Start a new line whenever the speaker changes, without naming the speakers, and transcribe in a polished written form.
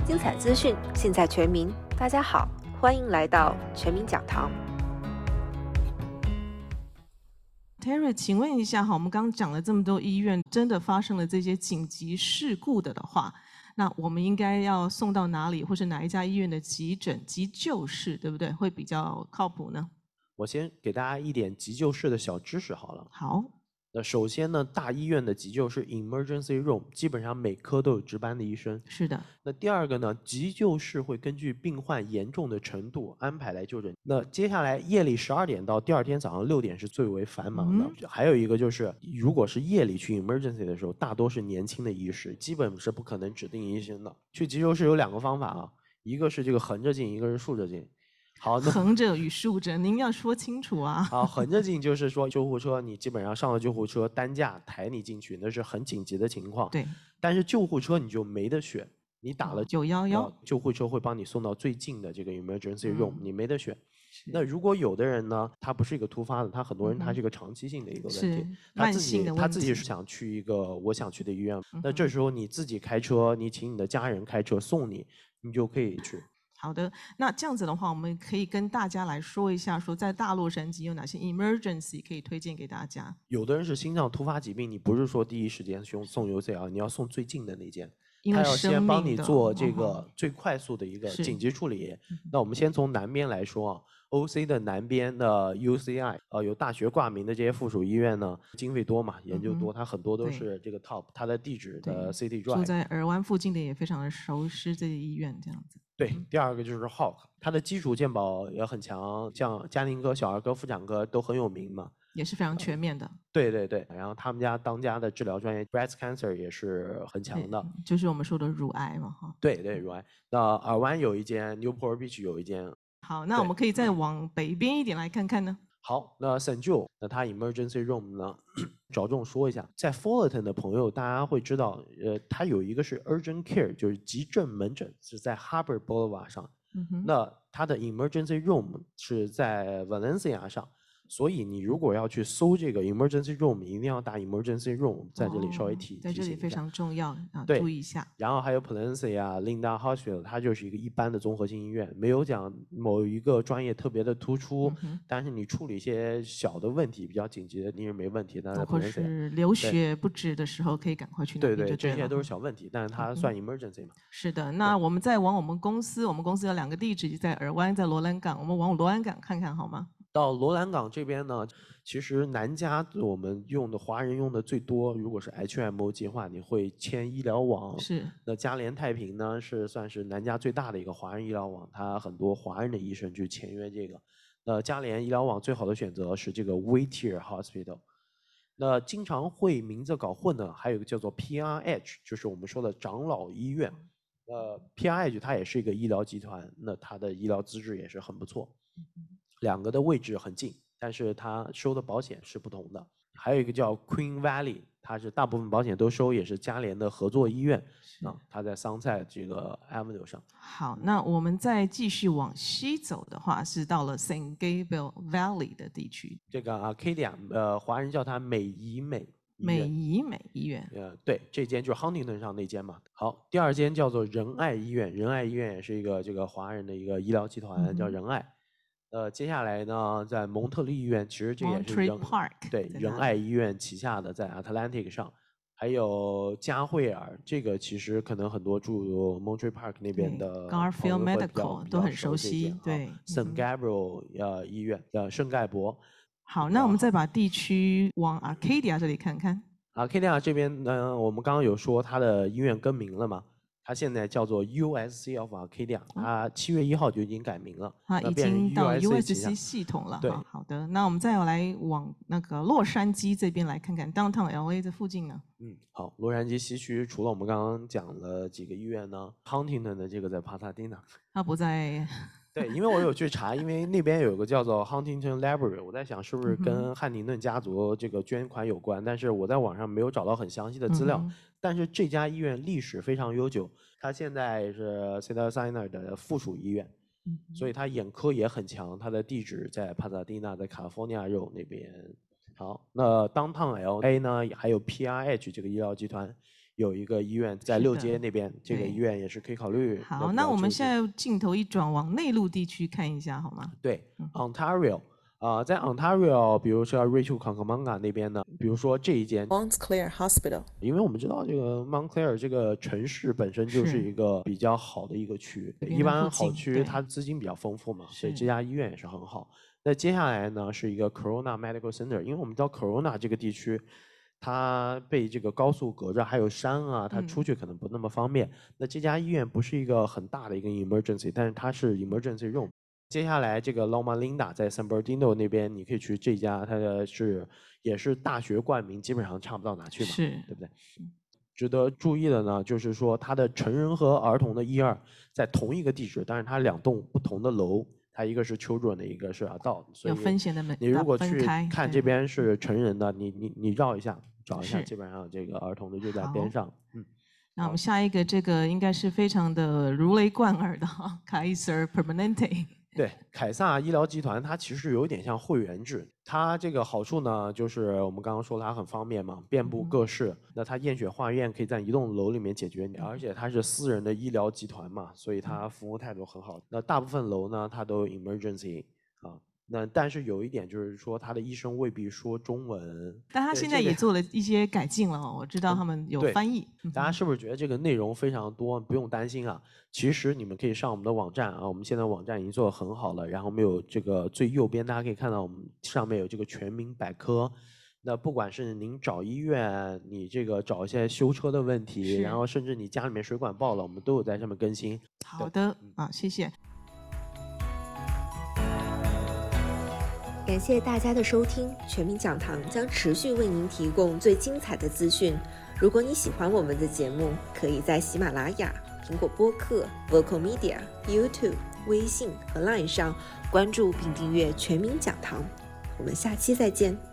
精彩资讯，尽在全民。大家好，欢迎来到全民讲堂。
Terry， 请问一下哈，我们刚刚讲了这么多医院，真的发生了这些紧急事故的话，那我们应该要送到哪里，或是哪一家医院的急诊、急救室，对不对？会比较靠谱呢？
我先给大家一点急救室的小知识好了。
好。
那首先呢，大医院的急救室 emergency room 基本上每科都有值班的医生。
是的。
那第二个呢，急救室会根据病患严重的程度安排来就诊。那接下来夜里12点到第二天早上6点是最为繁忙的。还有一个就是，如果是夜里去 emergency 的时候，大多是年轻的医师，基本是不可能指定医生的。去急救室有2个方法啊，一个是这个横着进，一个是竖着进。好，
横着与竖着，您要说清楚啊。
好，横着进就是说救护车，你基本上上了救护车，担架抬你进去，那是很紧急的情况。
对。
但是救护车你就没得选，你打了
911，
救护车会帮你送到最近的这个 emergency room，你没得选。那如果有的人呢，他不是一个突发的，他很多人他是一个长期性的一个问题，他自己是想去一个我想去的医院，那这时候你自己开车，你请你的家人开车送你，你就可以去。
好的，那这样子的话，我们可以跟大家来说一下，说在大洛杉矶有哪些 emergency 可以推荐给大家。
有的人是心脏突发疾病，你不是说第一时间送 UCL， 你要送最近的那间，
他
要先帮你做这个最快速的一个紧急处理。那我们先从南边来说啊 ，OC 的南边的 UCI， 有大学挂名的这些附属医院呢，经费多嘛，研究多，它很多都是这个 top， 它的地址的 City Drive。
住在尔湾附近的也非常的熟悉这些医院，这样子。
对，第二个就是 Hawk， 它的基础健保也很强，像家庭科、小儿科、妇产科都很有名嘛，
也是非常全面的。
对对对，然后他们家当家的治疗专业 breast cancer 也是很强的，
就是我们说的乳癌嘛，哈。
对对，乳癌。那尔湾有一间 Newport Beach 有一间。
好，那我们可以再往北边一点来看看呢。
好，那 St. Joe， 那它 emergency room 呢，着重说一下，在 Fullerton 的朋友，大家会知道，它有一个是 urgent care， 就是急症门诊，是在 Harbor Boulevard 上。那它的 emergency room 是在 Valencia 上。所以你如果要去搜这个 emergency room， 一定要打 emergency room， 在这里稍微提醒一下，
在这里非常重要啊，注意一下。
然后还有 Palencia、Linda Hospital， 它就是一个一般的综合性医院，没有讲某一个专业特别的突出，但是你处理一些小的问题比较紧急的，你是没问题的。
或是流血不止的时候，可以赶快去那边就对了。
对，这些都是小问题，但是它算 emergency 嘛。
是的，那我们再往我们公司有2个地址，在尔湾，在罗兰港，我们往罗兰港看看好吗？
到罗兰港这边呢，其实南加我们用的华人用的最多，如果是 HMO 计划，你会签医疗网。
是。那
嘉联太平呢，算是南加最大的一个华人医疗网，它很多华人的医生去签约这个。嘉联医疗网最好的选择是这个 Whittier Hospital。那经常会名字搞混的还有一个叫做 PRH， 就是我们说的长老医院。PRH 它也是一个医疗集团，那它的医疗资质也是很不错。2个的位置很近，但是它收的保险是不同的。还有一个叫 Queen Valley， 它是大部分保险都收，也是嘉联的合作医院它在桑塞这个 Avenue 上。
好，那我们再继续往西走的话，是到了 St. Gabriel Valley 的地区。
这个 Arcadia， 华人叫它美怡美
医院。
对，这间就是 Huntington 上那间嘛。好，第2间叫做仁爱医院，仁爱医院也是一个这个华人的一个医疗集团，叫仁爱。接下来呢，在蒙特利医院，其实这也是仁爱医院旗下的，在 Atlantic 上，还有嘉惠尔，这个其实可能很多住 Monterey Park 那边的
Garfield Medical 都很熟悉。对
，St. Gabriel 医院圣盖博。
好，那我们再把地区往 Arcadia 这里看看。
Arcadia 这边呢，我们刚刚有说它的医院更名了嘛？它现在叫做 USC of Arcadia， 它7月1号就已经改名了，
已经到 USC 系统了。
对，
好的，那我们再来往那个洛杉矶这边来看看 Downtown LA 这附近呢。
好，洛杉矶西区除了我们刚刚讲了几个医院呢 ，Huntington 的这个在帕萨迪纳，
它不在。
对，因为我有去查，因为那边有个叫做 Huntington Library， 我在想是不是跟汉宁顿家族这个捐款有关，但是我在网上没有找到很详细的资料。但是这家医院历史非常悠久，它现在是 Cedars-Sinai 的附属医院，所以它眼科也很强。它的地址在帕萨迪纳，在 California Road 那边。好，那 Downtown LA 呢，还有 PRH 这个医疗集团， 有一个医院在6街那边，这个医院也是可以考虑。
好，那我们现在镜头一转往内陆地区看一下好吗？
对，Ontario。在 Ontario， 比如说 Rachel Kakamanga 那边呢，比如说这一间
Montclair Hospital，
因为我们知道这个 Montclair 这个城市本身就是一个比较好的一个区，一般好区它资金比较丰富嘛，所以这家医院也是很好。那接下来呢是一个 Corona Medical Center， 因为我们知道 Corona 这个地区它被这个高速隔着，还有山啊，它出去可能不那么方便。那这家医院不是一个很大的一个 emergency， 但是它是 emergency room。接下来这个 Loma Linda 在 San Bernardino 那边，你可以去这家，它的也是大学冠名，基本上差不到哪去嘛，对不对？值得注意的呢，就是说它的成人和儿童的1、2在同一个地址，但是它2栋不同的楼，它一个是 children 的，一个是 adult， 所以你如果去看这边是成人的，你绕一下找一下，基本上这个儿童的就在边上。
那我们下一个这个应该是非常的如雷贯耳的Kaiser Permanente。
对，凯撒医疗集团它其实有点像会员制，它这个好处呢，就是我们刚刚说它很方便嘛，遍布各市。那它验血化验可以在一栋楼里面解决，而且它是私人的医疗集团嘛，所以它服务态度很好。那大部分楼呢，它都有 emergency 啊。那但是有一点就是说，他的医生未必说中文，
但他现在也做了一些改进了，我知道他们有翻译。
大家是不是觉得这个内容非常多，不用担心啊？其实你们可以上我们的网站啊，我们现在网站已经做得很好了。然后我们有这个最右边，大家可以看到我们上面有这个全民百科。那不管是您找医院，你这个找一些修车的问题，然后甚至你家里面水管爆了，我们都有在上面更新。
好的，谢谢。
感谢大家的收听，全民讲堂将持续为您提供最精彩的资讯。如果你喜欢我们的节目，可以在喜马拉雅、苹果播客、Vocal Media、YouTube、微信和 Line 上关注并订阅全民讲堂。我们下期再见。